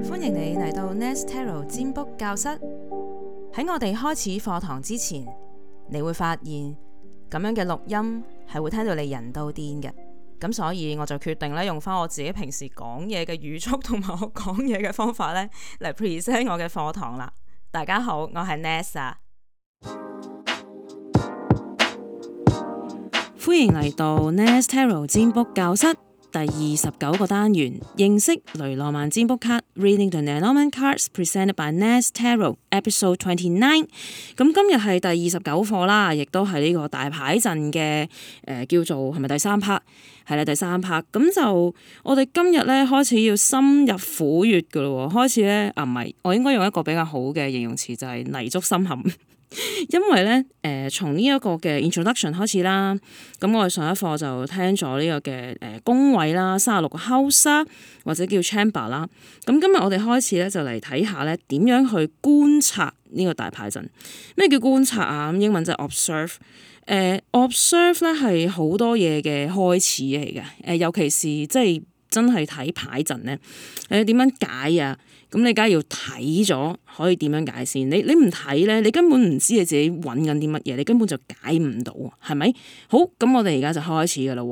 歡迎你嚟到 Nest Tarot 占卜教室。喺我哋開始課堂之前，你會發現咁樣嘅錄音係會聽到你人都癲嘅。咁所以我就決定咧用翻我自己平時講嘢嘅語速同埋我講嘢嘅方法咧嚟 present 我嘅課堂啦。大家好，我係 Nest 啊，歡迎嚟到 Nest Tarot 占卜教室。第29個單元，認識雷諾曼占卜卡 Reading the Lenormand Cards presented by Nest Tarot Episode 29。咁今日係第29課啦，亦都係呢個大牌陣嘅叫做係咪第3 part？ 係啦，第3 part。咁就我哋今日咧開始要深入虎穴噶咯，開始咧唔係，我應該用一個比較好嘅形容詞就係泥足深陷。因為咧，從呢一個嘅 introduction 開始啦，咁我哋上一課就聽咗呢個嘅宮位啦，36個 house 啦，或者叫 chamber 啦。咁今日我哋開始咧就嚟睇下咧點樣去觀察呢個大牌陣。咩叫觀察啊？咁英文就係 observe。observe 咧係好多嘢嘅開始嚟嘅。尤其是即係真係睇牌陣咧，點樣解啊？咁你梗係要睇咗，可以點樣解先？你唔睇咧，你根本唔知你自己揾緊啲乜嘢，你根本就解唔到，係咪？好，咁我哋而家就開始噶啦。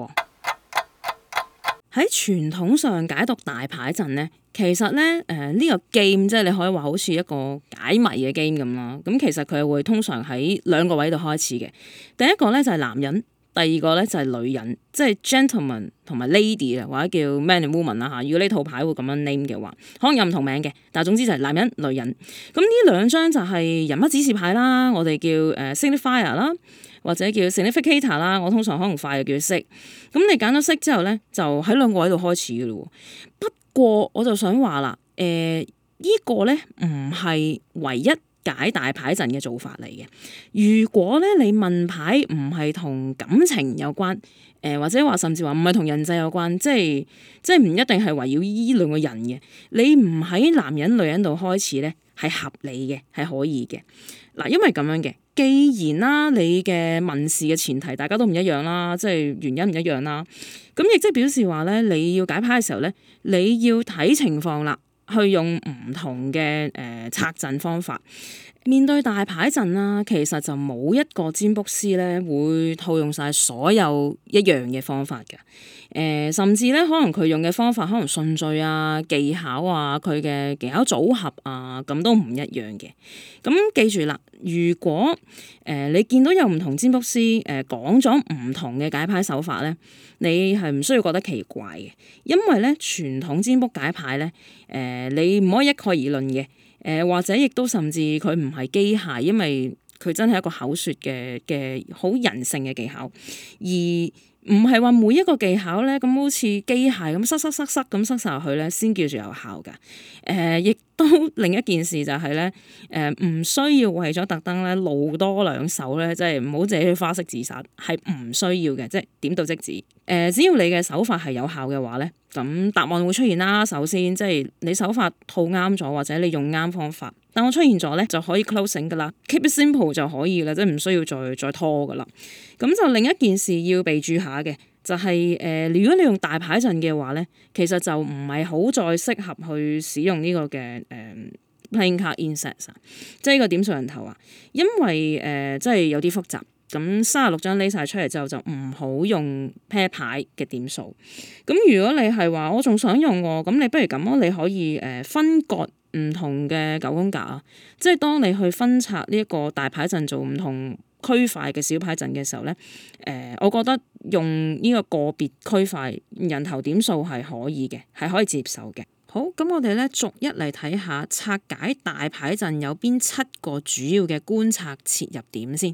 喺傳統上解讀大牌陣咧，其實咧呢個 game 即係你可以話好似一個解謎嘅 game 咁啦。咁其實佢會通常喺2個位度開始嘅。第一個咧就係男人。第二個咧就係女人，即係 gentleman 同埋 lady 啊，或者叫 man and woman 啦嚇。如果呢套牌會咁樣 name 嘅話，可能有唔同名嘅，但係總之就係男人、女人。咁呢兩張就係人物指示牌啦，我哋叫signifier 啦，或者叫 significator 啦。我通常可能快就叫色。咁你揀咗色之後咧，就喺2個位度開始嘅咯。不過我就想話啦，呢個咧唔係唯一解大牌陣嘅做法嚟嘅。如果咧你問牌唔係同感情有關，或者話甚至話唔係同人際有關，即係唔一定係圍繞依2個人嘅，你唔喺男人女人度開始咧係合理嘅，係可以嘅。嗱，因為咁樣嘅，既然啦你嘅問事嘅前提大家都唔一樣啦，即係原因唔一樣啦，咁亦即係表示話咧你要解牌嘅時候咧，你要睇情況啦。去用唔同嘅拆陣方法面對大牌陣啦，其實就冇一個占卜師咧會套用晒所有一樣嘅方法嘅。甚至咧可能佢用嘅方法可能順序啊、技巧啊、佢嘅技巧組合啊，咁都唔一樣嘅。咁記住啦，如果你見到有唔同占卜師講咗唔同嘅解牌手法咧，你係唔需要覺得奇怪嘅，因為咧傳統占卜解牌咧你唔可以一概而論嘅，或者亦都甚至佢唔係機械，因為佢真係一個口說嘅好人性嘅技巧，而唔係話每一個技巧咧咁好似機械咁塞咁塞晒落去咧先叫做有效㗎。亦都另一件事就係咧唔需要為咗特登咧露多2手咧，即係唔好自己去花式自殺，係唔需要嘅，即係點到即止。只要你嘅手法係有效嘅話咧，咁答案會出現啦。首先即係你手法套啱咗，或者你用啱方法，答案出現咗咧就可以 closing 噶啦 ，keep it simple 就可以啦，即係唔需要再拖噶啦。咁就另一件事要備註下嘅就係如果你用大牌陣嘅話咧，其實就唔係好再適合去使用呢個嘅playing card insets 即係呢個點數人頭啊，因為即係有啲複雜。咁36張拎晒出嚟之後就唔好用 pair 牌嘅點數。咁如果你係話我仲想用喎，咁你不如咁咯，你可以分割唔同嘅9宮格啊，即係當你去分拆呢一個大牌陣做唔同區塊嘅小牌陣嘅時候咧，我覺得用呢個個別區塊人頭點數係可以嘅，係可以接受嘅。好，咁我哋咧逐一嚟睇下拆解大牌陣有邊7個主要嘅觀察切入點先。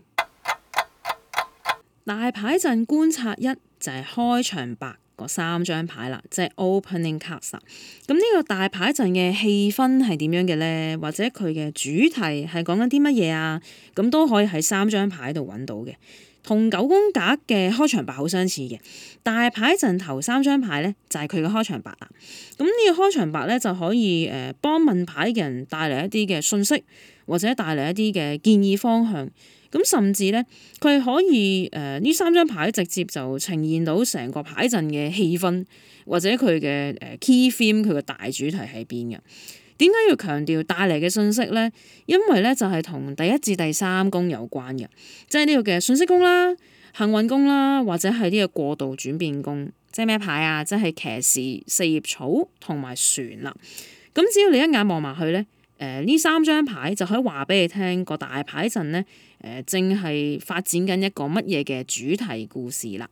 大牌陣觀察1就係開場白嗰3張牌啦，即係 opening cards。咁呢個大牌陣嘅氣氛係點樣嘅咧？或者佢嘅主題係講緊啲乜嘢啊？咁都可以喺3張牌度揾到嘅，同9宮格嘅開場白好相似嘅。大牌陣頭3張牌咧就係佢嘅開場白啦。咁呢個開場白咧就可以幫問牌嘅人帶嚟一啲嘅訊息，或者帶嚟一啲嘅建議方向。咁甚至咧，佢可以呢3張牌直接就呈現到成個牌陣嘅氣氛，或者佢嘅key theme，佢嘅大主題喺邊嘅。 點解要強調帶嚟嘅信息咧？因為咧就係同第一至第三宮有關嘅，即係呢個嘅信息宮啦、幸運宮啦，或者係呢個過渡轉變宮。即係咩牌啊？即係騎士、四葉草同埋船啦。咁只要你一眼望埋去咧，呢三張牌就可以話俾你聽個大牌陣咧，正係發展緊一個乜嘢嘅主題故事啦。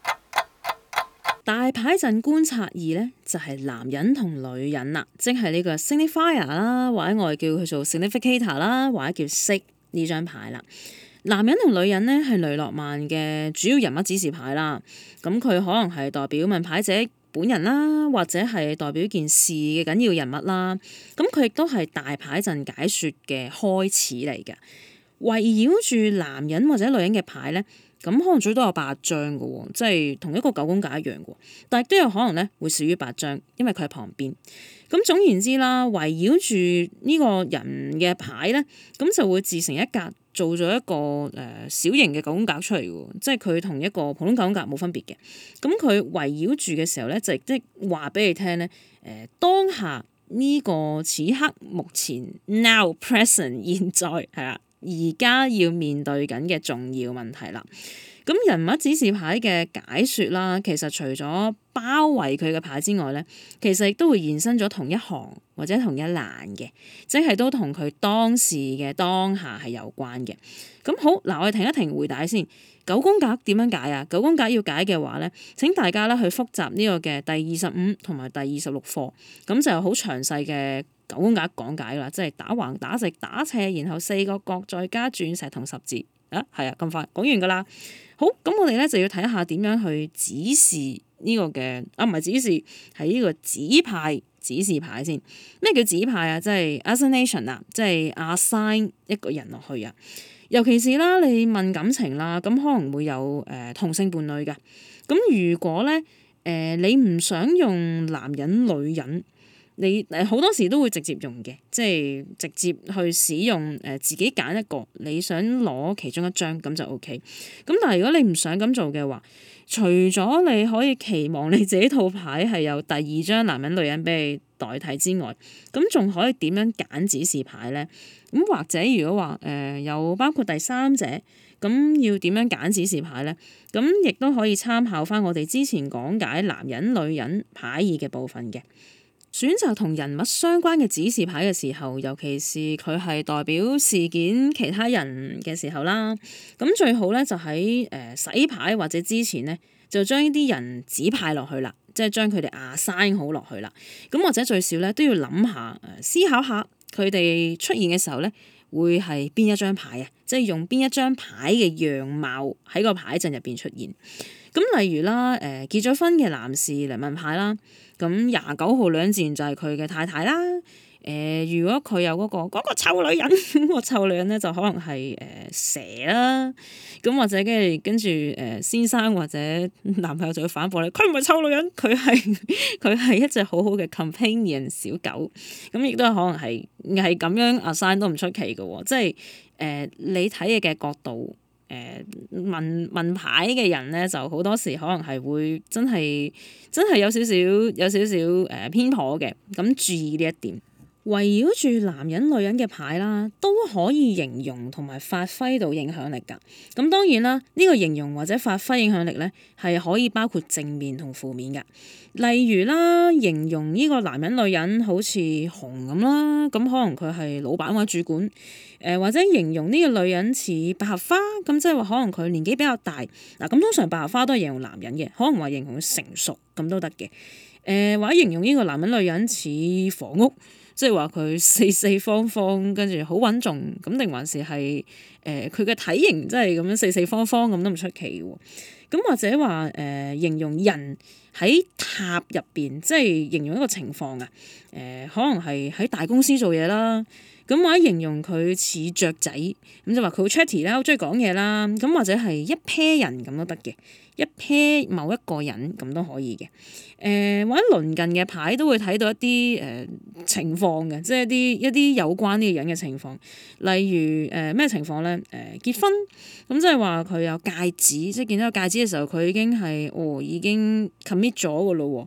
大牌陣觀察二咧就係男人同女人啦，即係呢個 signifier 啦，或者我哋叫佢做 significator 啦，或者叫 sig 呢張牌啦。男人同女人咧係雷諾曼嘅主要人物指示牌啦，咁佢可能係代表問牌者本人啦，或者係代表件事嘅緊要人物啦，咁佢亦都係大牌陣解說嘅開始嚟嘅。圍繞住男人或者女人嘅牌咧，咁可能最多有8張嘅喎，即係同一個九宮格一樣嘅，但係都有可能咧會少於8張，因為佢喺旁邊。咁總言之啦，圍繞住呢個人嘅牌咧，咁就會自成一格，做咗一個小型嘅九宮格出嚟嘅，即係佢同一個普通九宮格冇分別嘅。咁佢圍繞住嘅時候咧，就即係話俾你聽咧，當下呢個此刻目前 now present 現在係啦，而家要面對緊嘅重要問題啦。咁人物指示牌嘅解說啦，其實除咗包圍佢嘅牌之外咧，其實亦都會延伸咗同一行或者同一欄嘅，即係都同佢當時嘅當下係有關嘅。咁好嗱，我哋停一停回帶先。九宮格點樣解啊？九宮格要解嘅話咧，請大家咧去複習呢個嘅第25同埋第26課，咁就有好詳細嘅九宮格講解啦，即係打橫、打直、打斜，然後4個角再加鑽石同十字啊，係啊，咁快講完噶啦。好，咁我哋咧就要睇下點樣去指示呢個嘅唔係指示，係呢個指派指示牌先。咩叫指派啊？即係 assignation 啊，即係 assign 一個人落去啊。尤其是啦，你問感情啦，咁可能會有同性伴侶嘅。咁如果咧你唔想用男人女人，你好多時都會直接用嘅，即係直接去使用自己揀一個，你想攞其中一張咁就 OK。咁但係如果你唔想咁做嘅話，除咗你可以期望你自己套牌係有第二張男人女人俾你代替之外，咁仲可以點樣揀指示牌咧？咁或者如果話有包括第三者，咁要點樣揀指示牌咧？咁亦都可以參考翻我哋之前講解男人女人牌意嘅部分嘅。選擇同人物相關嘅指示牌嘅時候，尤其是佢係代表事件其他人嘅時候啦，咁最好咧就喺洗牌或者之前咧，就將呢啲人指派落去啦，即係將佢哋assign好落去啦。咁或者最少咧都要諗下思考下佢哋出現嘅時候咧，會係邊一張牌啊？即係用邊一張牌嘅樣貌喺個牌陣入邊出現。咁例如啦，結咗婚嘅男士嚟問牌啦，咁29號兩自然就係佢嘅太太啦。如果佢有嗰個臭女人，個臭女人咧就可能係蛇啦。咁或者跟住先生或者男朋友就會反駁你，佢唔係臭女人，佢係一隻好好嘅 companion 小狗。咁亦都可能係咁樣 assign 都唔出奇嘅喎，即係你睇嘢嘅角度。問牌嘅人咧，就好多時可能係會真係有少少偏頗嘅，咁注意呢一點。圍繞住男人女人嘅牌啦，都可以形容同埋發揮到影響力㗎。咁當然啦，呢個形容或者發揮影響力咧，係可以包括正面同負面㗎。例如啦，形容呢個男人女人好似熊咁啦，咁可能佢係老闆或者主管。或者形容呢個女人似百合花，咁即係話可能佢年紀比較大。嗱，咁通常百合花都係形容男人嘅，可能話形容佢成熟咁都得嘅。或者形容呢個男人女人似房屋，即係話佢四四方方，跟住好穩重，咁定還是係佢嘅體型真係咁樣四四方方咁都唔出奇喎。咁或者話形容人喺塔入邊，即係形容一個情況啊。可能係喺大公司做嘢啦。咁或者形容佢似雀仔，咁就話佢好 chatty 啦，好中意講嘢啦。咁或者係一 pair 人咁都得嘅，一 pair 某一個人咁都可以嘅。或者鄰近嘅牌都會睇到一啲情況嘅，即係一啲有關呢個人嘅情況。例如咩情況咧？結婚咁即係話佢有戒指，即係見到個戒指嘅時候，佢已經係已經 commit 咗㗎咯喎。咁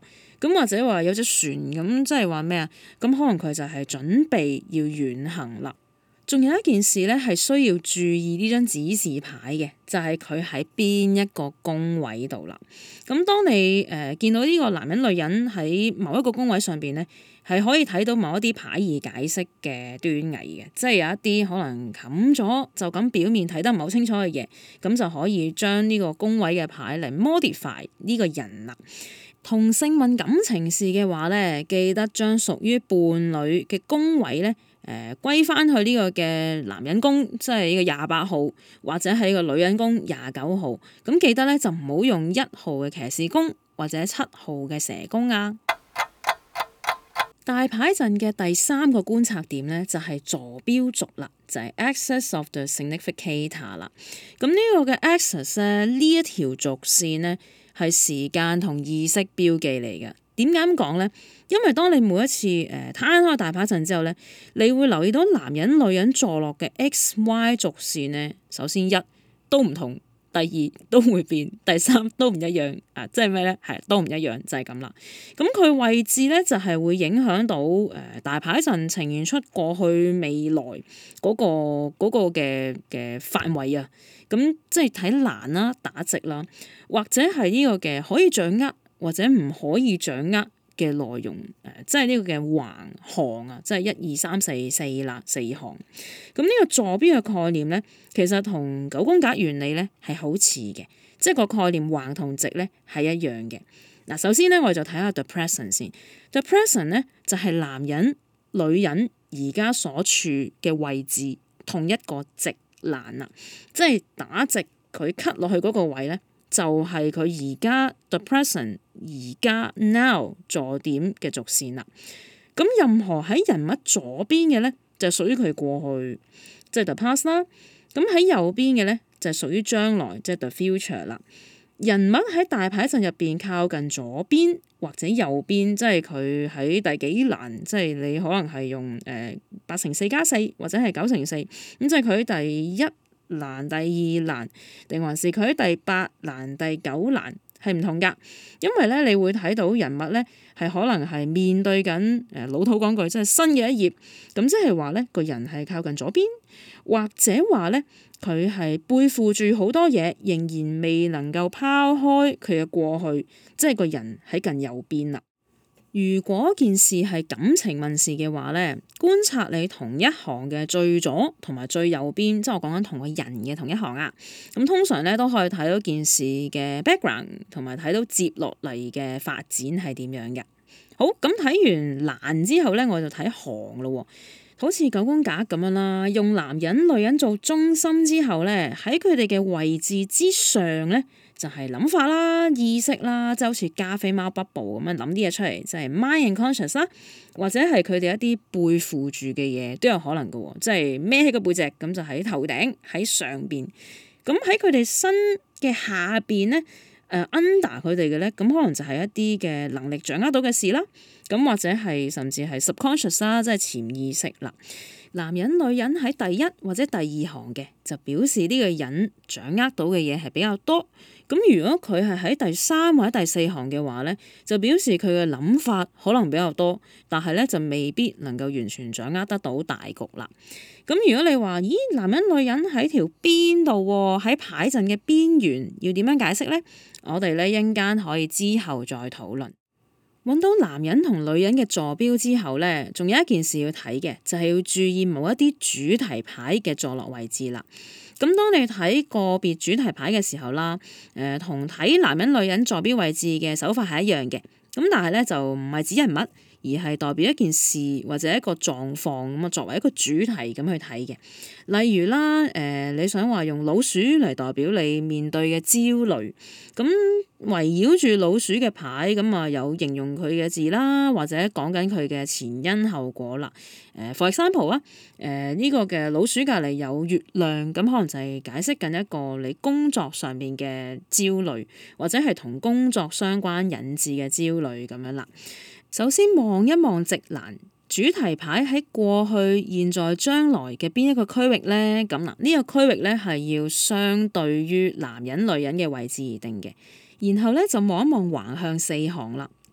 咁或者話有隻船咁，即係話咩啊？咁可能佢就係準備要遠行啦。仲有一件事咧，係需要注意呢張指示牌嘅，就係佢喺邊一個宮位度啦。咁當你見到呢個男人女人喺某一個宮位上邊咧，係可以睇到某一啲牌意解釋嘅端倪嘅，即係有一啲可能冚咗就咁表面睇得唔係好清楚嘅嘢，咁就可以將呢個宮位嘅牌嚟 modify 呢個人啦。同性問感情事嘅話咧，記得將屬於伴侶嘅宮位咧，歸翻去呢個嘅男人宮，即係呢個28號，或者係呢個女人宮29號。咁記得咧就唔好用1號嘅騎士宮或者7號嘅蛇宮啊。大牌陣嘅第3個觀察點咧就係坐標軸啦，就係 axis of the significator 啦。咁呢個嘅 axis 咧，呢一條軸線咧係時間同意識標記嚟嘅。點解咁講咧？因為當你每一次攤開大牌陣之後咧，你會留意到男人女人坐落嘅 XY 軸線咧，首先1都唔同，第2都會變，第3都唔一樣啊！即係咩咧？係都唔一樣，就係咁啦。咁佢位置咧就係會影響到大牌陣呈現出過去未來嗰個嘅範圍啊。咁即係睇欄啦、打直啦，或者係呢個嘅可以掌握或者唔可以掌握嘅內容，即係呢個嘅橫行啊，即係1、2、3、4、4啦，4行。咁呢個坐標嘅概念咧，其實同九宮格原理咧係好似嘅，即係個概念橫同直咧係一樣嘅。嗱，首先咧我哋就睇下 the present 先。the present 咧就係男人、女人而家所處嘅位置同一個直欄啦，即係打直佢 cut 落去嗰個位咧，就係佢而家 the present 而家 now 坐點嘅軸線啦。咁任何喺人物左邊嘅咧，就屬於佢過去，即係 the past 啦。咁喺右邊嘅咧，就係屬於將來，即係 the future 啦。人物喺大牌陣入邊靠近左邊或者右邊，即係佢喺第幾欄，即係你可能係用8×4+4或者係9×4，咁即係佢喺第1欄、第2欄，定還是佢喺第8欄、第9欄係唔同㗎。因為咧，你會睇到人物咧係可能係面對緊老土講句，即係新嘅一頁。咁即係話咧，個人係靠近左邊，或者話咧佢係背負住好多嘢，仍然未能夠拋開佢嘅過去，即係個人喺近右邊啦。如果件事係感情問事嘅話咧，觀察你同一行嘅最左同埋最右邊，即係我講緊同個人嘅同一行啊。咁通常咧都可以睇到件事嘅 background，同埋睇到接落嚟嘅發展係點樣嘅。好，咁睇完欄之後咧，我就睇行咯。好似九宮格咁樣啦，用男人女人做中心之後咧，喺佢哋嘅位置之上咧，就係諗法啦、意識啦，即係好似加菲貓 bubble 咁樣諗啲嘢出嚟，就係 mind and conscious 啦，或者係佢哋一啲背負住嘅嘢都有可能嘅，即係孭起個背脊咁就喺頭頂喺上邊，咁喺佢哋身嘅下邊咧，under 佢哋嘅咧，咁可能就係一啲嘅能力掌握到嘅事啦，咁或者係甚至係 subconscious 啦，即係潛意識啦。男人女人喺第1或者第2行嘅，就表示呢個人掌握到嘅嘢係比較多。咁如果佢係喺第3或者第4行嘅話咧，就表示佢嘅諗法可能比較多，但係咧就未必能夠完全掌握得到大局啦。咁如果你話，咦，男人女人喺條邊度喎，喺牌陣嘅邊緣，要點樣解釋咧？我哋咧一陣間可以之後再討論。揾到男人同女人嘅坐標之後咧，仲有一件事要睇嘅，就係要注意某一啲主題牌嘅坐落位置啦。咁當你睇個別主題牌嘅時候啦，同睇男人女人坐標位置嘅手法係一樣嘅。咁但係咧就唔係指人物，而係代表一件事或者一個狀況咁啊，作為一個主題咁去睇嘅。例如啦，你想話用老鼠嚟代表你面對嘅焦慮，咁圍繞住老鼠嘅牌咁啊，有形容佢嘅字啦，或者講緊佢嘅前因後果啦。for example 啊，呢個嘅老鼠隔離有月亮，咁可能就係解釋緊一個你工作上面嘅焦慮，或者係同工作相關引致嘅焦慮咁樣啦。首先望一望直欄主題牌喺過去、現在、將來嘅邊一個區域咧？咁嗱，呢個區域咧係要相對於男人、女人嘅位置而定嘅。然後咧就望一望橫向4行啦，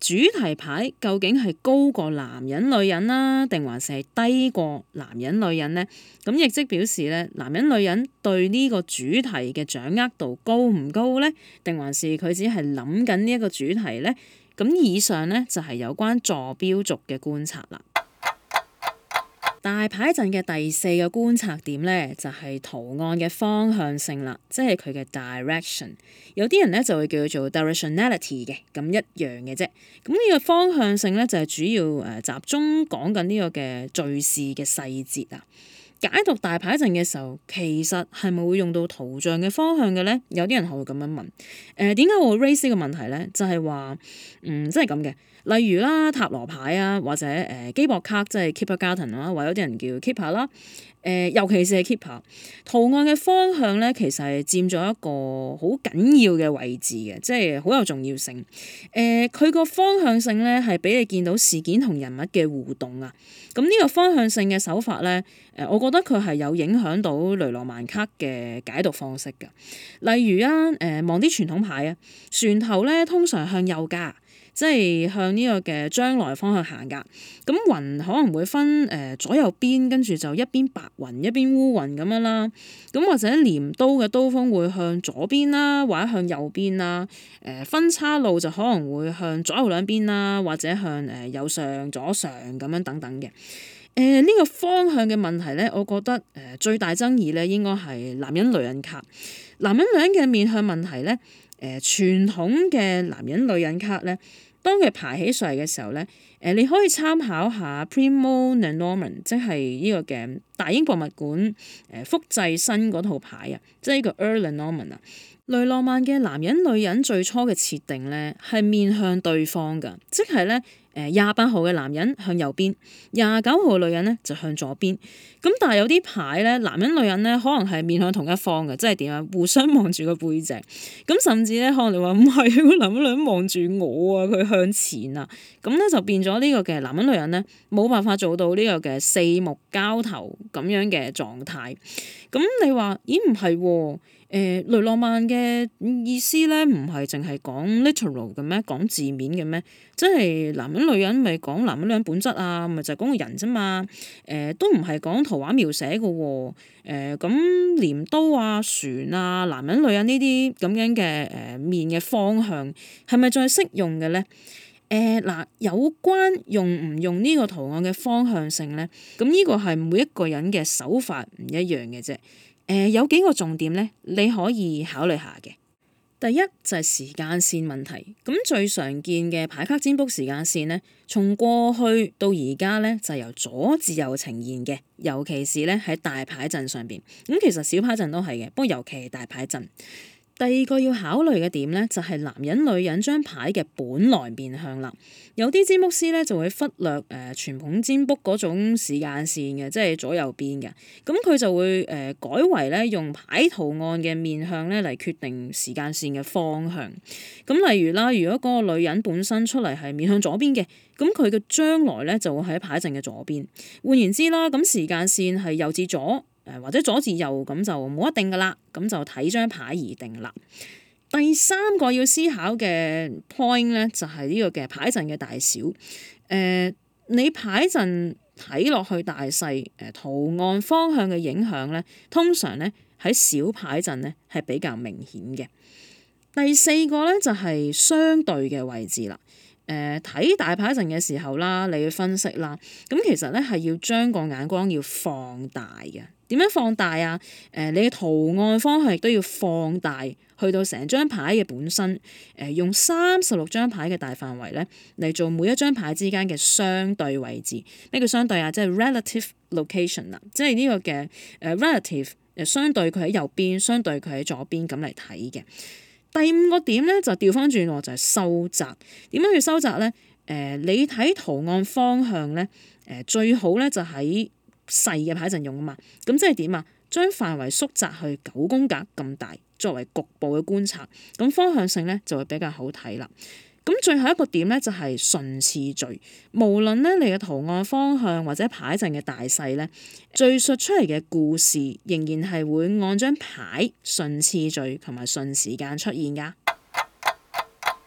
主題牌究竟係高過男人女人啦，定還是係低過男人女人呢？咁亦即表示咧，男人女人對呢個主題嘅掌握度高唔高呢？定還是佢只係諗緊呢一個主題呢？咁以上呢，就係有關坐標軸嘅觀察啦。大牌陣嘅第四個觀察點呢，就係圖案嘅方向性啦，即係佢嘅 direction。有啲人呢就會叫做 directionality 嘅，咁一樣嘅啫。咁呢個方向性呢，就係主要集中講緊呢個嘅敘事嘅細節啊。解讀大牌陣嘅時候，其實係咪會用到圖像嘅方向嘅呢？有啲人會咁樣問。點解我會 raise 呢個問題呢？就係話，即係咁嘅。例如啦，塔羅牌啊，或者基博卡，即係 Keeper Carton 啦，或者有啲人叫 Keeper 啦。尤其是係 Keeper 圖案嘅方向咧，其實係佔咗一個好緊要嘅位置嘅，即係好有重要性。佢個方向性咧係俾你見到事件同人物嘅互動啊。咁呢個方向性嘅手法咧，我覺得佢係有影響到雷諾曼卡嘅解讀方式㗎。例如啊，望啲傳統牌啊，船頭咧通常向右㗎。即係向呢個嘅將來方向行㗎，咁雲可能會分左右邊，跟住就一邊白雲一邊烏雲咁樣啦。咁或者鐮刀嘅刀鋒會向左邊啦，或者向右邊啦。分叉路就可能會向左右兩邊啦，或者向右上左上咁樣等等嘅。呢個方向嘅問題咧，我覺得最大爭議咧應該係男人女人卡。男人女人嘅面向問題咧。傳統嘅男人女人卡咧，當佢排起上嚟嘅時候咧，你可以參考下 Primo Lenormand， 即係呢個嘅大英博物館複製新嗰套牌啊，即係呢個 Earl Lenormand 啊。雷諾曼嘅男人女人最初嘅設定咧係面向對方㗎，即係咧28號嘅男人向右邊，29號嘅女人咧就向左邊。咁但係有啲牌咧，男人女人咧可能係面向同一方嘅，即係點啊？互相望住個背脊。咁甚至咧可能你話唔係，個男人女人望住我啊，佢向前啊。咁咧就變咗呢個嘅男人女人咧冇辦法做到呢個嘅四目交投咁樣嘅狀態。咁你話咦唔係喎？雷諾曼嘅意思咧，唔係淨係講 literal 嘅咩？講字面嘅咩？即係男人女人咪講男人女人本質啊，咪就係講個人啫嘛。都唔係講圖畫描寫嘅喎。咁鐮刀啊、船啊、男人女人呢啲咁樣嘅面嘅方向，係咪再適用嘅咧？嗱，有關用唔用呢個圖案嘅方向性咧，咁呢個係每一個人嘅手法唔一樣嘅啫。有幾個重點咧，你可以考慮下嘅。第一就係時間線問題。咁最常見嘅牌卡占卜時間線咧，從過去到而家咧，就由左至右呈現嘅，尤其是咧喺大牌陣上邊。咁其實小牌陣都係嘅，不過尤其係大牌陣。第二個要考慮嘅點咧，就係男人女人張牌嘅本來面向啦。有啲占卜師咧就會忽略傳統占卜嗰種時間線嘅，即係左右邊嘅。咁佢就會改為咧用牌圖案嘅面向咧嚟決定時間線嘅方向。咁例如啦，如果嗰個女人本身出嚟係面向左邊嘅，咁佢嘅將來咧就會喺牌陣嘅左邊。換言之啦，咁時間線係右至左。或者左至右咁就冇一定噶啦，咁就睇張牌而定啦。第三個要思考嘅 point 咧，就係呢個嘅牌陣嘅大小。你牌陣睇落去大細，圖案方向嘅影響咧，通常咧喺小牌陣咧係比較明顯嘅。第四個咧就係相對嘅位置啦。睇大牌陣嘅時候啦，你要分析啦。咁其實咧係要將個眼光要放大嘅。點樣放大啊？你嘅圖案方向亦都要放大，去到成張牌嘅本身。用36張牌嘅大範圍咧嚟做每一張牌之間嘅相對位置。咩叫相對啊？即係 relative location 啦，即係呢個嘅relative 相對佢喺右邊，相對佢喺左邊咁嚟睇嘅。第五個點咧就調翻轉喎，就係收窄。點樣去收窄咧？你睇圖案方向咧，最好咧就喺細嘅牌陣用啊嘛。咁即係點啊？將範圍縮窄去9宮格咁大，作為局部嘅觀察，咁方向性咧就會比較好睇啦。咁最後一個點咧就係順次序，無論咧你嘅圖案方向或者牌陣嘅大細咧，敘述出嚟嘅故事仍然係會按張牌順次序同埋順時間出現噶。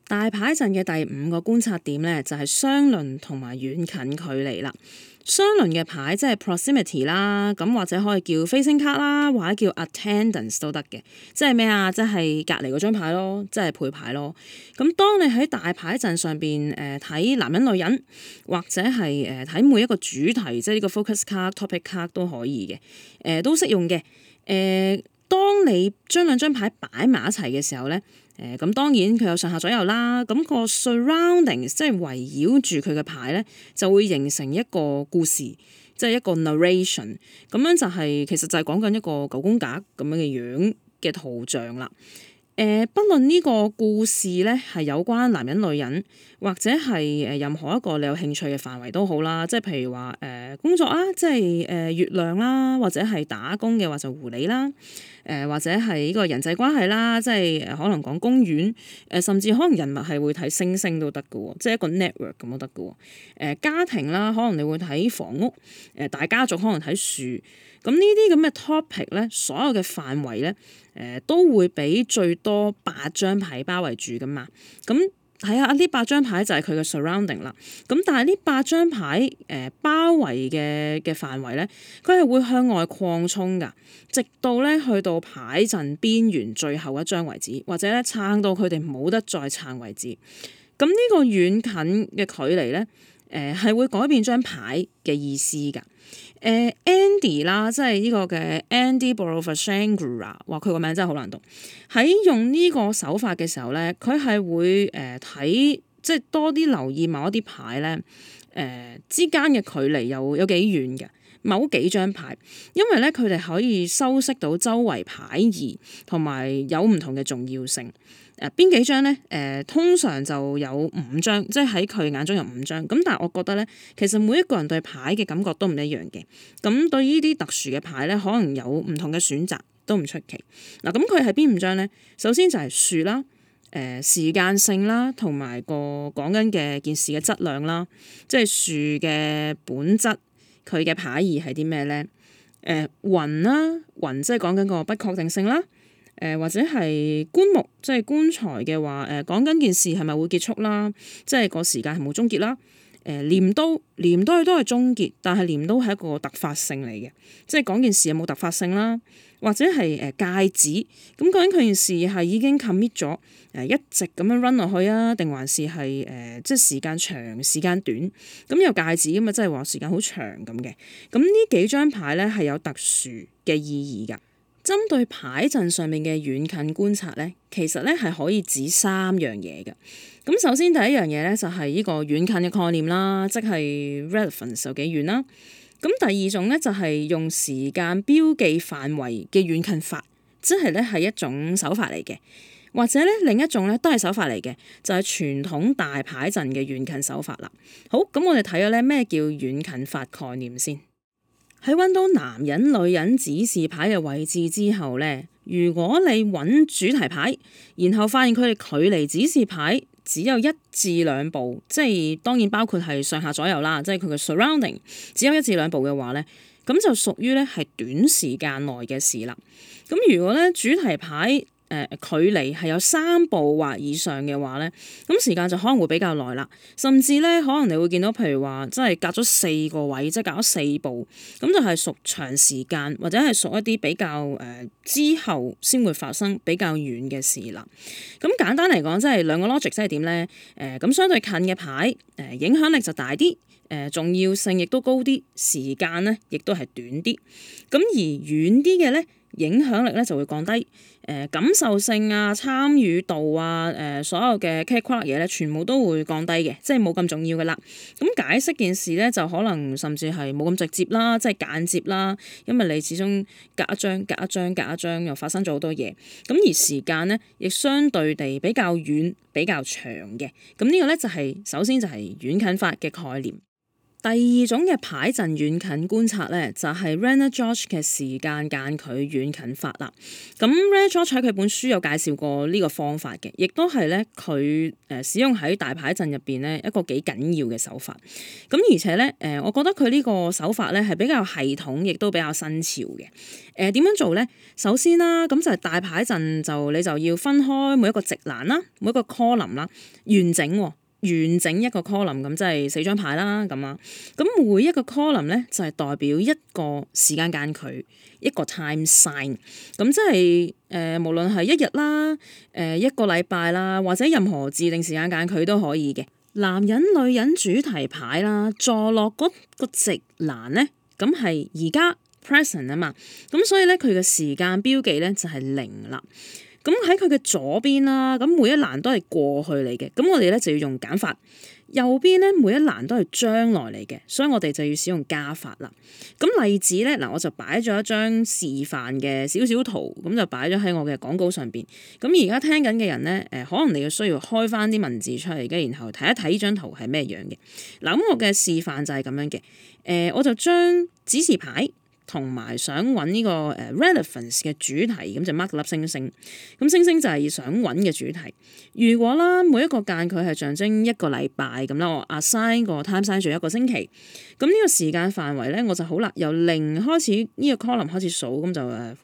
大牌陣嘅第五個觀察點咧，就係相鄰同埋遠近距離啦。相鄰嘅牌即係 proximity 啦，咁或者可以叫 facing card 啦，或者叫 attendance 都得嘅。即係咩啊？即係隔離嗰張牌咯，即係配牌咯。咁當你喺大牌陣上邊睇男人女人，或者係睇每一個主題，即係呢個 focus card、topic card 都可以嘅，都適用嘅。當你將兩張牌擺埋一齊嘅時候咧，咁當然佢有上下左右啦，咁個 surroundings 即係圍繞住佢嘅牌咧，就會形成一個故事，即係一個 narration，咁樣就其實就係講緊一個九宮格咁樣嘅樣嘅圖像啦。不論呢個故事咧係有關男人女人，或者係任何一個你有興趣嘅範圍都好啦，即係譬如話工作啦，即係月亮啦，或者係打工嘅話就狐狸啦，或者係呢個人際關係啦，即係可能講公園，甚至可能人物係會睇星星都得㗎喎，即係一個 network 咁都得㗎喎。家庭啦，可能你會睇房屋，大家族可能睇樹，咁呢啲咁嘅 topic 咧，所有嘅範圍咧，都會俾最多8張牌包圍住噶嘛。咁睇下呢8張牌就係佢嘅 surrounding 啦。咁但係呢8張牌包圍嘅範圍咧，佢係會向外擴充噶，直到咧去到牌陣邊緣最後一張為止，或者咧撐到佢哋冇得再撐為止。咁呢個遠近嘅距離咧，係會改變張牌嘅意思㗎。Andy 啦，即係呢個嘅 Andy Borovasangra， 話佢個名真係好難讀。喺用呢個手法嘅時候咧，佢係會睇即係多啲留意某一啲牌咧，之間嘅距離有幾遠嘅某幾張牌，因為咧佢哋可以修飾到周圍牌義同埋有唔同嘅重要性。邊幾張咧？通常就有5張，即係喺佢眼中有5張。咁但係我覺得咧，其實每一個人對牌嘅感覺都唔一樣嘅。咁對呢啲特殊嘅牌咧，可能有唔同嘅選擇，都唔出奇。嗱，咁佢係邊5張咧？首先就係樹啦，時間性啦，同埋個講緊嘅件事嘅質量啦，即係樹嘅本質，佢嘅牌義係啲咩咧？雲啦，雲即係講緊個不確定性啦。或者係棺木，即係棺材嘅話，講緊件事係咪會結束啦？即係個時間係冇終結啦。鐮刀佢都係終結，但係鐮刀係一個突發性嚟嘅，即係講件事有冇突發性啦。或者係戒指，咁究竟佢件事係已經 commit 咗，一直咁樣 run 落去啊，定還是係即係時間長時間短？咁有戒指咁啊，即係話時間好長咁嘅。咁呢幾張牌咧係有特殊嘅意義㗎。針對牌陣上面嘅遠近觀察咧，其實咧係可以指3樣嘢嘅。咁首先第一樣嘢咧就係呢個遠近嘅概念啦，即係 relevance 有幾遠啦。咁第二種咧就係用時間標記範圍嘅遠近法，即係咧係一種手法嚟嘅。或者咧另一種咧都係手法嚟嘅，就係傳統大牌陣嘅遠近手法啦。好，咁我哋睇咗咧咩叫遠近法概念先。喺揾到男人女人指示牌嘅位置之後咧，如果你揾主題牌，然後發現佢哋距離指示牌只有1至2步，即係當然包括係上下左右啦，即係佢嘅 surrounding 只有1至2步嘅話咧，咁就屬於咧係短時間內嘅事啦。咁如果咧主題牌距離係有3步或以上嘅話咧，咁時間就可能會比較耐啦，甚至咧可能你會見到，譬如話真係隔咗4個位，即係隔咗4步，咁就係屬長時間或者係屬一啲比較之後先會發生比較遠嘅事啦。咁簡單嚟講，即係兩個 logic 即係點咧？咁相對近嘅牌影響力就大啲，重要性亦都高啲，時間咧亦都係短啲。咁而遠啲嘅咧，影響力咧就會降低，感受性啊、參與度啊、所有嘅 care 嘢咧，全部都會降低嘅，即係冇咁重要嘅啦。咁解釋件事咧，就可能甚至係冇咁直接啦，即係間接啦，因為你始終隔一張又發生咗好多嘢。咁而時間咧，亦相對地比較遠、比較長嘅。咁呢個咧就係首先就係遠近法嘅概念。 第二種嘅牌陣遠近觀察咧，就係 Rainer George 嘅時間間距遠近法啦。咁 Rainer George 喺佢本書有介紹過呢個方法嘅，亦都係咧佢使用喺大牌陣入邊咧一個幾緊要嘅手法。咁而且咧我覺得佢呢個手法咧係比較系統，亦都比較新潮嘅。點樣做咧？首先啦，咁就係大牌陣你就要分開每一個直欄啦，每一個 column 啦，完整一個 column 咁即係4張牌啦咁啊，咁每一個 column 咧就係代表一個時間間距，一個 time sign， 咁即係無論係一日啦、一個禮拜啦，或者任何自定時間間距都可以嘅。男人女人主題牌啦，坐落嗰個直欄咧，咁係而家 present 啊嘛，咁所以咧佢嘅時間標記咧就係0啦。咁喺佢嘅左邊啦，咁每一欄都係過去嚟嘅，咁我哋咧就要用減法。右邊咧每一欄都係將來嚟嘅，所以我哋就要使用加法啦。咁例子咧嗱，我就擺咗一張示範嘅少少圖，咁就擺咗喺我嘅講稿上邊。咁而家聽緊嘅人咧，可能你要需要開翻啲文字出嚟嘅，然後睇一睇呢張圖係咩樣嘅。嗱，咁我嘅示範就係咁樣嘅。我就將指示牌同埋想揾呢個relevance 嘅主題，咁就 mark 粒星星。咁星星就係想揾嘅主題。如果啦每一個間距係象徵一個禮拜咁啦，我 assign 個 time sign 做一個星期。咁呢個時間範圍咧，我就好啦，由0開始呢個 column 開始數，咁就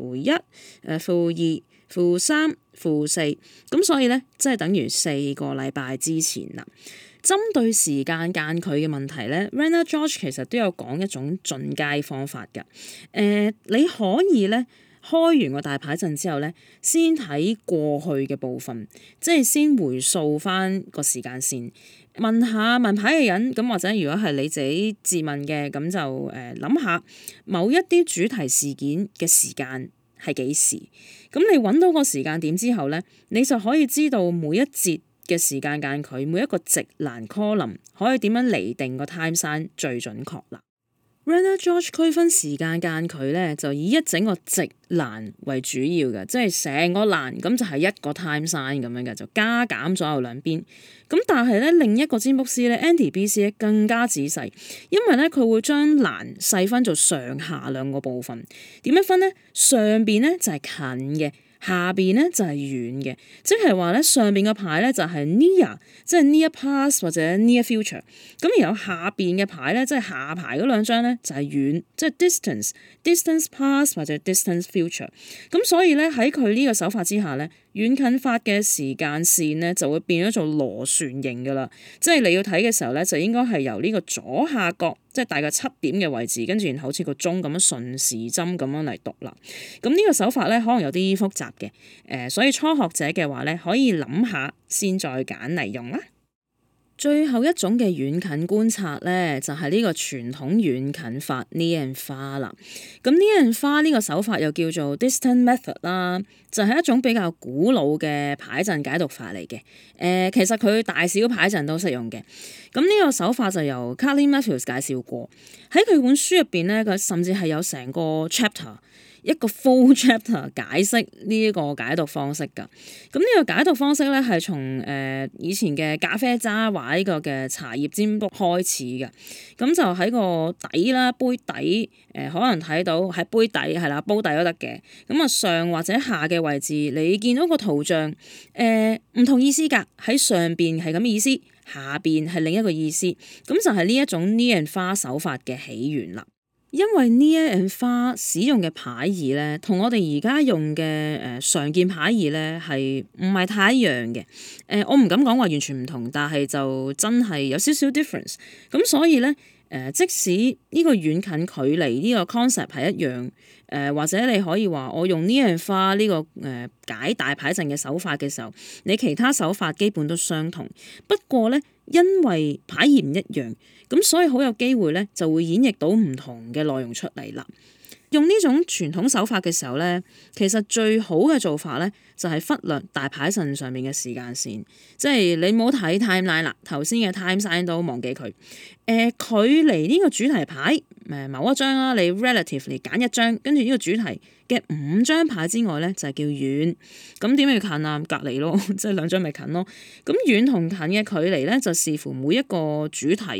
-1、-2、-3、-4。咁所以咧，即係等於4個禮拜之前啦。針對時間間距嘅問題咧 Rainer George 其實都有講一種進階方法㗎。你可以咧開完個大牌陣之後咧，先睇過去嘅部分，即係先回溯翻個時間線，問牌嘅人，咁或者如果係你自己自問嘅，咁就諗下某一啲主題事件嘅時間係幾時。咁你揾到個時間點之後咧，你就可以知道每一節嘅時間間距，每一個直欄 column 可以點樣釐定個 time sign 最準確啦。Rainer George 區分時間間距咧，就以一整個直欄為主要嘅，即係成個欄咁就係一個 time sign 咁樣嘅，就加減左右兩邊。咁但係咧另一個占卜師咧 Andy BC 咧更加仔細，因為咧佢會將欄細分做上下兩個部分。點樣分咧？上邊咧就係近嘅，下邊咧就係遠嘅，即係話咧上邊嘅牌咧就係 near， 即係 near past 或者 near future。咁然後下邊嘅牌咧，即係下排嗰兩張咧就係遠，即係 distance past 或者 distance future。咁所以咧喺佢呢個手法之下咧，遠近法嘅時間線咧就會變咗做螺旋形噶啦。即係你要睇嘅時候咧，就應該係由呢個左下角，即係大概7點嘅位置，跟住然後好似個鐘咁樣順時針咁樣嚟讀啦。咁呢個手法咧可能有啲複雜嘅，所以初學者嘅話咧可以諗下先再揀嚟用啦。最後一種嘅遠近觀察咧，就係呢個傳統遠近法 near and far 啦。咁 near and far 呢個手法又叫做 distant method 啦，就係一種比較古老嘅牌陣解讀法嚟嘅。其實佢大小牌陣都適用嘅。咁呢個手法就由 Carly Matthews 介紹過，喺佢本書入邊咧，佢甚至係有成個 chapter，一個 full chapter 解釋呢一個解讀方式㗎。咁呢個解讀方式咧係從以前嘅咖啡渣或呢個嘅茶葉占卜開始嘅。咁就喺個底啦，杯底可能睇到喺杯底係啦，煲底都得嘅。咁啊上或者下嘅位置，你見到個圖像唔同意思㗎。喺上邊係咁嘅意思，下邊係另一個意思。咁就係呢一種 near and far 手法嘅起源啦。因為 near and far 使用嘅牌意咧，同我哋而家用嘅常見牌意咧係唔係太一樣嘅。我唔敢講話完全唔同，但係就真係有少少 difference。咁所以咧即使呢個遠近距離呢個 concept 係一樣，或者你可以話我用 near and far 呢個解大牌陣嘅手法嘅時候，你其他手法基本都相同。不過咧，因為牌意唔一樣，咁所以好有機會咧就會演繹到唔同嘅內容出嚟啦。用呢種傳統手法嘅時候咧，其實最好嘅做法咧就係忽略大牌陣上面嘅時間線，即係你唔好睇 timeline 啦，頭先嘅 time sign 都忘記佢。距離呢個主題牌某一張啦，你 relatively 揀一張，跟住呢個主題嘅5張牌之外咧就係叫遠。咁點叫近啊？隔離咯，即係2張咪近咯。咁遠同近嘅距離咧就視乎每一個主題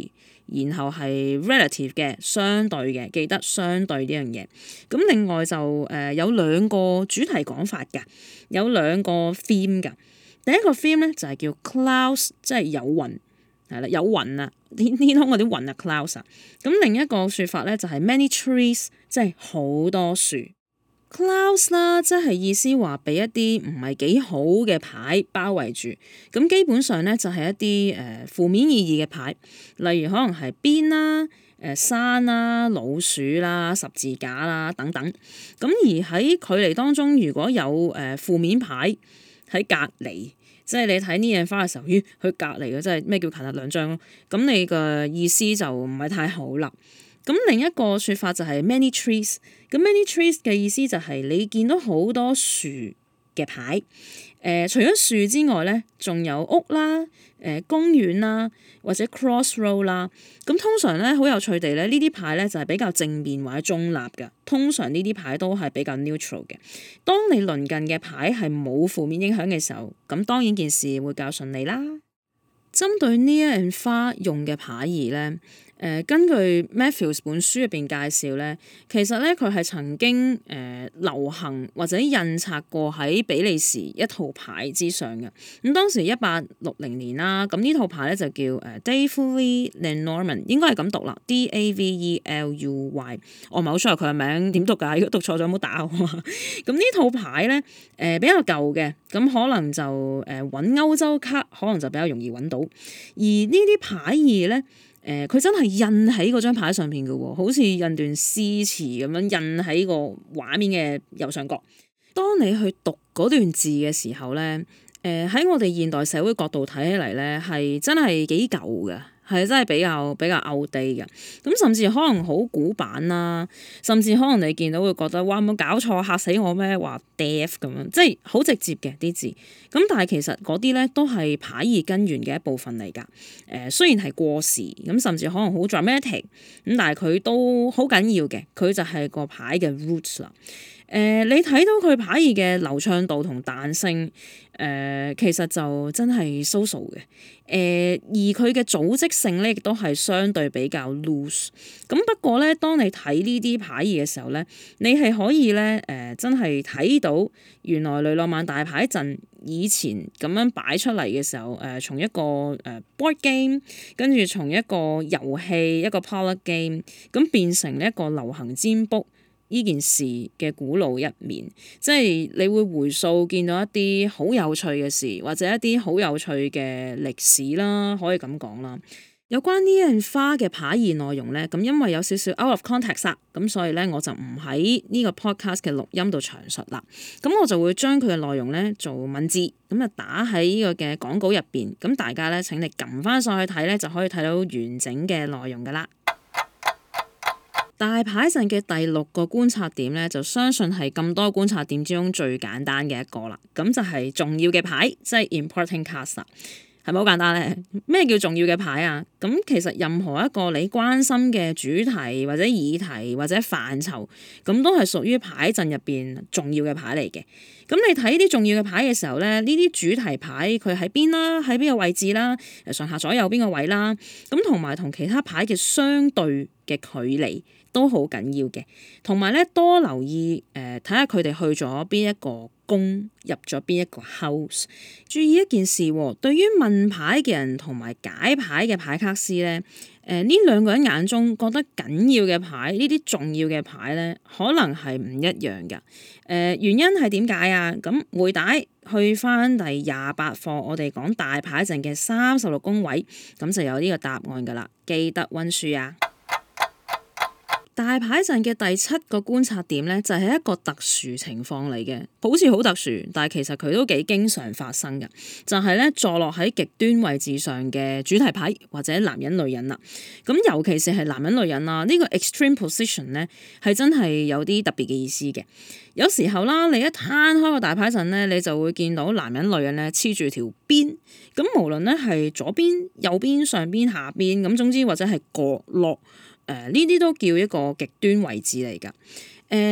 然後係 relative 嘅相對嘅，記得相對呢樣嘢。咁另外就有兩個主題講法㗎，有兩個 theme 㗎。第一個 theme 咧就係叫 clouds， 即係有雲。係啦，有雲啊，天空嗰啲雲啊 clouds 啊。咁另一個説法咧就係 many trees， 即係好多樹。clouds 啦，即係意思話俾一啲唔係幾好嘅牌包圍住。咁基本上咧就係一啲負面意義嘅牌，例如可能係邊啦、山啦、老鼠啦、十字架啦等等。咁而喺距離當中，如果有負面牌喺隔離。即係你睇呢樣花嘅時候，佢隔離嘅，即係咩叫近兩張咯？咁你嘅意思就唔係太好啦。咁另一個説法就係 many trees。咁 many trees 嘅意思就係你見到好多樹嘅牌。除咗樹之外咧，仲有屋啦、公園啦，或者 crossroad 啦。咁通常咧好有趣地咧，呢啲牌咧就係比較正面或者中立嘅。通常呢啲牌都係比較 neutral 嘅。當你鄰近嘅牌係冇負面影響嘅時候，咁當然件事會較順利啦。針對 near and far 用嘅牌義咧。根據 Matthews 本書入邊介紹咧，其實咧佢係曾經流行或者印刷過喺比利時一套牌之上嘅。咁當時1860年啦，咁呢套牌咧就叫Davely Lenormand， 應該係咁讀啦 ，Davely。我唔係好 sure 佢嘅名點讀㗎，如果讀錯咗唔好打我啊。咁呢套牌咧比較舊嘅，咁可能就揾歐洲卡可能就比較容易揾到，而呢啲牌義咧。佢真係印喺嗰張牌上邊嘅喎，好似印段詩詞咁樣印喺個畫面嘅右上角。當你去讀嗰段字嘅時候咧，喺我哋現代社會角度睇起嚟咧，係真係幾舊嘅，係真係比較 outdate 嘅。咁甚至可能好古板啦，甚至可能你見到會覺得哇，冇搞錯，嚇死我咩？話 death 咁樣，即係好直接嘅啲字。咁但係其實嗰啲咧都係牌義根源嘅一部分嚟㗎。雖然係過時，咁甚至可能好 dramatic，咁但係佢都好緊要嘅。佢就係個牌嘅 roots 啦。你睇到佢牌義嘅流暢度同彈性，其實就真係 so-so 嘅。而佢嘅組織性咧，亦都係相對比較 loose。咁不過咧，當你睇呢啲牌義嘅時候咧，你係可以咧真係睇到原來雷諾曼大牌陣以前咁樣擺出嚟嘅時候，從一個board game，跟住從一個遊戲一個 parlor game，咁變成一個流行占卜呢件事嘅古老一面，即係你會回溯見到一啲好有趣嘅事，或者一啲好有趣嘅歷史啦，可以咁講啦。有關呢樣花嘅牌義內容咧，咁因為有少少 out of context 啦，咁所以咧我就唔喺呢個 podcast 嘅錄音度詳述啦。咁我就會將佢嘅內容咧做文字，咁啊打喺呢個嘅講稿入邊，咁大家咧請你撳翻上去睇咧，就可以睇到完整嘅內容噶啦。大牌陣嘅第6個觀察點咧，就相信係咁多觀察點之中最簡單嘅一個啦。咁就係重要嘅牌，即係 important cards 啦。係咪好簡單咧？咩叫重要嘅牌啊？咁其實任何一個你關心嘅主題或者議題或者範疇，咁都係屬於牌陣入邊重要嘅牌嚟嘅。咁你睇啲重要嘅牌嘅時候咧，呢啲主題牌佢喺邊啦，喺邊個位置啦，上下左右邊個位啦，咁同埋同其他牌嘅相對嘅距離都好緊要嘅。同埋咧，多留意睇下佢哋去咗邊一個宮，入咗邊一個 house。注意一件事喎，對於問牌嘅人同埋解牌嘅牌卡師咧，呢兩個人眼中覺得緊要嘅牌，呢啲重要嘅牌咧，可能係唔一樣㗎。原因係點解啊？咁回帶去翻第28課，我哋講大牌陣嘅36宮位，咁就有呢個答案㗎啦。記得溫書啊！大牌陣嘅第7個觀察點咧，就係一個特殊情況嚟嘅，好似好特殊，但係其實佢都幾經常發生嘅，就係咧坐落喺極端位置上嘅主題牌或者男人女人啦。咁尤其是係男人女人啦，呢個 extreme position 咧係真係有啲特別嘅意思嘅。有時候啦，你一攤開個大牌陣咧，你就會見到男人女人咧黐住條邊，咁無論咧係左邊、右邊、上邊、下邊，咁總之或者係角落。呢啲都叫一個極端位置嚟㗎。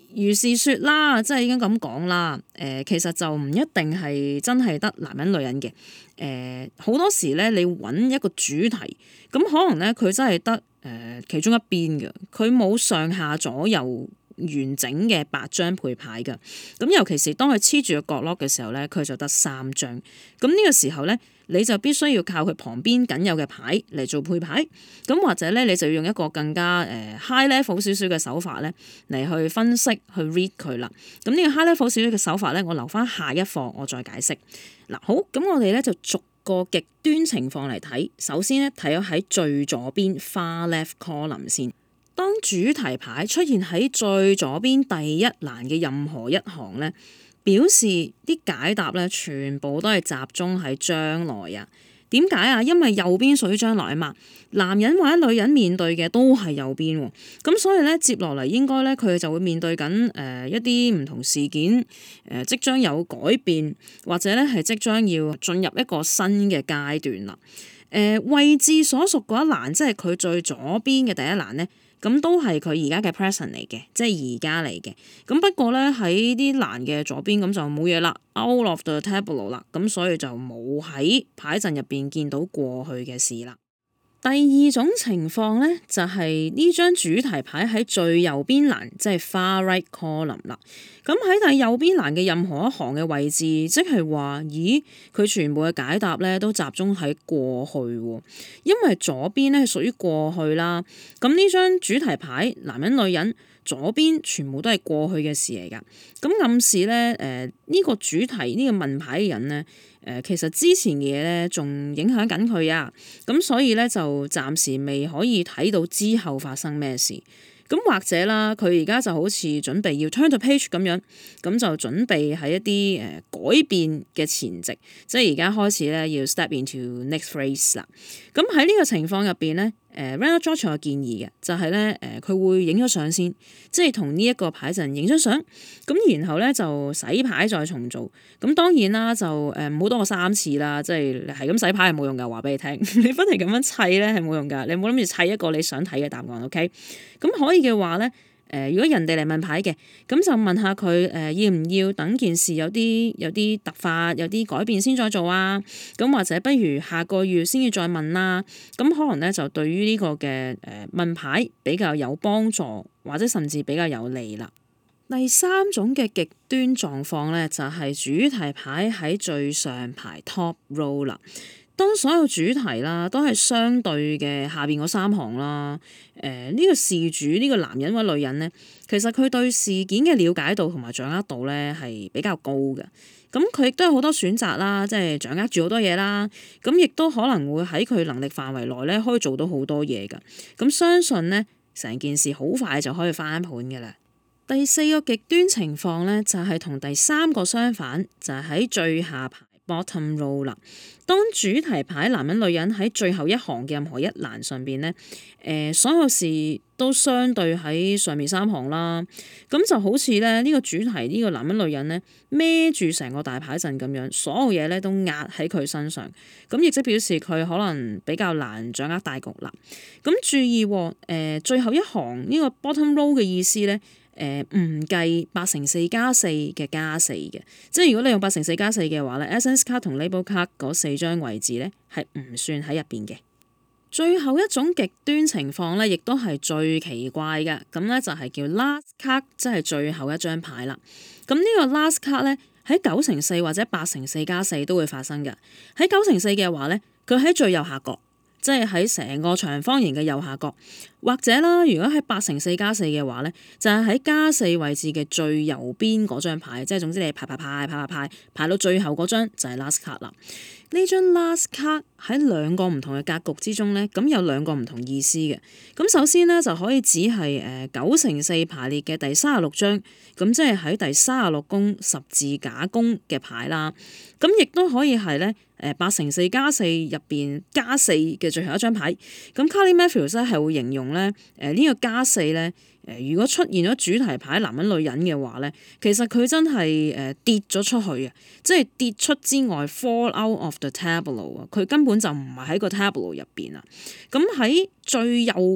如是說啦，即係已經咁講啦。其實就唔一定係真係得男人女人嘅。好多時咧，你揾一個主題，咁可能咧佢真係得其中一邊嘅，佢冇上下左右完整嘅8張配牌㗎。咁尤其是當佢黐住個角落嘅時候咧，佢就得3張。咁呢個時候咧，你就必須要靠佢旁邊僅有嘅牌嚟做配牌。咁或者咧，你就要用一個更加high level 少少嘅手法咧嚟去分析去 read 佢啦。咁呢個 high level 少少嘅手法咧，我留翻下一課我再解釋。嗱，好，咁我哋咧就逐個極端情況嚟睇。首先咧，睇咗喺最左邊 far left column 先。當主題牌出現喺最左邊第一欄嘅任何一行咧，表示啲解答咧全部都係集中喺將來啊。點解啊？因為右邊屬於將來啊嘛，男人或者女人面對嘅都係右邊喎，咁所以咧接落嚟應該咧佢就會面對緊一啲唔同事件即將有改變，或者咧係即將要進入一個新嘅階段啦。位置所屬嗰一欄，即係佢最左邊嘅第一欄咧。咁都係佢而家嘅 present 嚟嘅，即係而家嚟嘅。咁不過咧喺啲欄嘅左邊咁就冇嘢啦 ，out of the tableau 啦。咁所以就冇喺牌陣入邊見到過去嘅事啦。第二種情況咧，就係呢張主題牌喺最右邊欄，即係 far right column 啦。咁喺第右邊欄嘅任何一行嘅位置，即係話，咦，佢全部嘅解答咧都集中喺過去喎，因為左邊咧係屬於過去啦。咁呢張主題牌，男人女人左邊全部都係過去嘅事嚟㗎。咁暗示咧，呢個主題呢個問牌嘅人咧。其實之前嘅嘢咧，仲影響緊佢啊，咁所以咧就暫時未可以睇到之後發生咩事。咁或者啦，佢而家就好似準備要 turn the page 咁樣，咁就準備喺一啲改變嘅前夕，即係而家開始咧要 step into next phase 啦。咁喺呢個情況入邊咧，Randall George 有建議嘅就係咧佢會影咗相先，即係同呢一個牌陣影咗相，咁然後咧就洗牌再重做。咁當然啦，就唔好多過3次啦，即係係咁洗牌係冇用㗎，話俾你聽，你不停咁樣砌咧係冇用㗎，你冇諗住砌一個你想睇嘅答案 ，OK？咁可以嘅話咧，如果人哋嚟問牌嘅，咁就問下佢要唔要等件事有啲突發、有啲改變先再做啊？咁或者不如下個月先至再問啦。咁可能咧就對於呢個嘅問牌比較有幫助，或者甚至比較有利啦。第三種嘅極端狀況咧，就係主題牌喺最上排 top row 啦。當所有主題啦都係相對嘅下邊嗰3行啦，呢個事主呢個男人或者女人咧，其實佢對事件嘅了解度同埋掌握度咧係比較高嘅。咁佢亦都有好多選擇啦，即係掌握住好多嘢啦。咁亦都可能會喺佢能力範圍內咧，可以做到好多嘢㗎。咁相信咧，成件事好快就可以翻盤嘅啦。第4個極端情況咧，就係同第3個相反，就係喺最下排 bottom row 啦。當主題牌男人女人喺最後一行嘅任何一欄上邊咧，所有事都相對喺上面3行啦。咁就好似咧呢個主題呢個男人女人咧孭住成個大牌陣咁樣，所有嘢咧都壓喺佢身上。咁亦即表示佢可能比較難掌握大局啦。咁注意最後一行呢個 bottom row 嘅意思咧。唔計8×4加4嘅加4嘅，即係如果你用8×4加4嘅話咧 ，Essence 卡同 Label 卡嗰4張位置咧係唔算喺入邊嘅。最後一種極端情況咧，亦都係最奇怪嘅，咁咧就係叫 last card，即係最後一張牌啦。咁呢個 last card 咧喺9×4或者8×4加4都會發生嘅。喺9×4嘅話咧，佢喺最右下角。即係喺成個長方形嘅右下角，或者啦，如果喺8×4加4嘅話咧，就係喺加4位置嘅最右邊嗰張牌，即係總之你排到最後嗰張就係 last card 啦。呢張 last card 喺2個唔同嘅格局之中咧，咁有2個唔同意思嘅。咁首先咧就可以指係9×4排列嘅第36張，咁即係喺第36宮十字架宮嘅牌啦。咁亦都可以係咧8×4加4入邊加4嘅最後一張牌。咁 Carly Matthews 咧係會形容咧呢個加4咧如果出現咗主題牌男人女人嘅話咧，其實佢真係跌咗出去啊！即係跌出之外 fall out of the tableau 啊！佢根本就唔係喺個 tableau 入邊啊！咁喺最右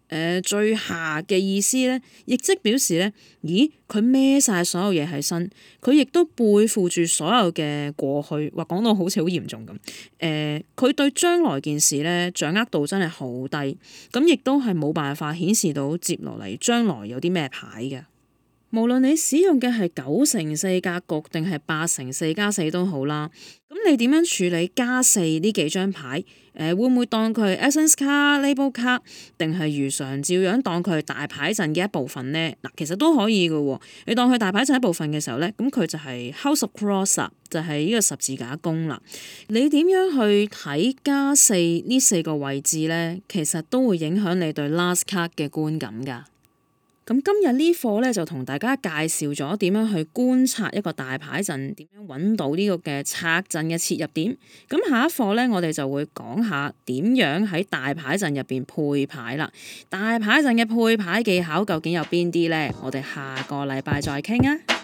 最下嘅意思咧，亦即表示咧，咦佢孭晒所有嘢喺身，佢亦都背負住所有嘅過去，話講到好似好嚴重咁。佢對將來件事咧掌握度真係好低，咁亦都係冇辦法顯示到接落嚟將來有啲咩牌嘅。無論你使用嘅係9乘4格局定係8乘4+4都好啦，咁你點樣處理+4呢幾張牌？會唔會當佢係 Essence 卡、Label 卡，定係如常照樣當佢係大牌陣嘅一部分呢？嗱，其實都可以嘅喎。你當佢大牌陣一部分嘅時候咧，咁佢就係 House of Cross 就係呢個十字架宮啦。你點樣去睇+4呢4個位置咧？其實都會影響你對 Last Card 嘅觀感㗎。咁今日呢課咧就同大家介紹咗點樣去觀察一個大牌陣，點樣揾到呢個嘅策陣嘅切入點。咁下一課咧，我哋就會講下點樣喺大牌陣入邊配牌啦。大牌陣嘅配牌技巧究竟有邊啲咧？我哋下個禮拜再傾啊！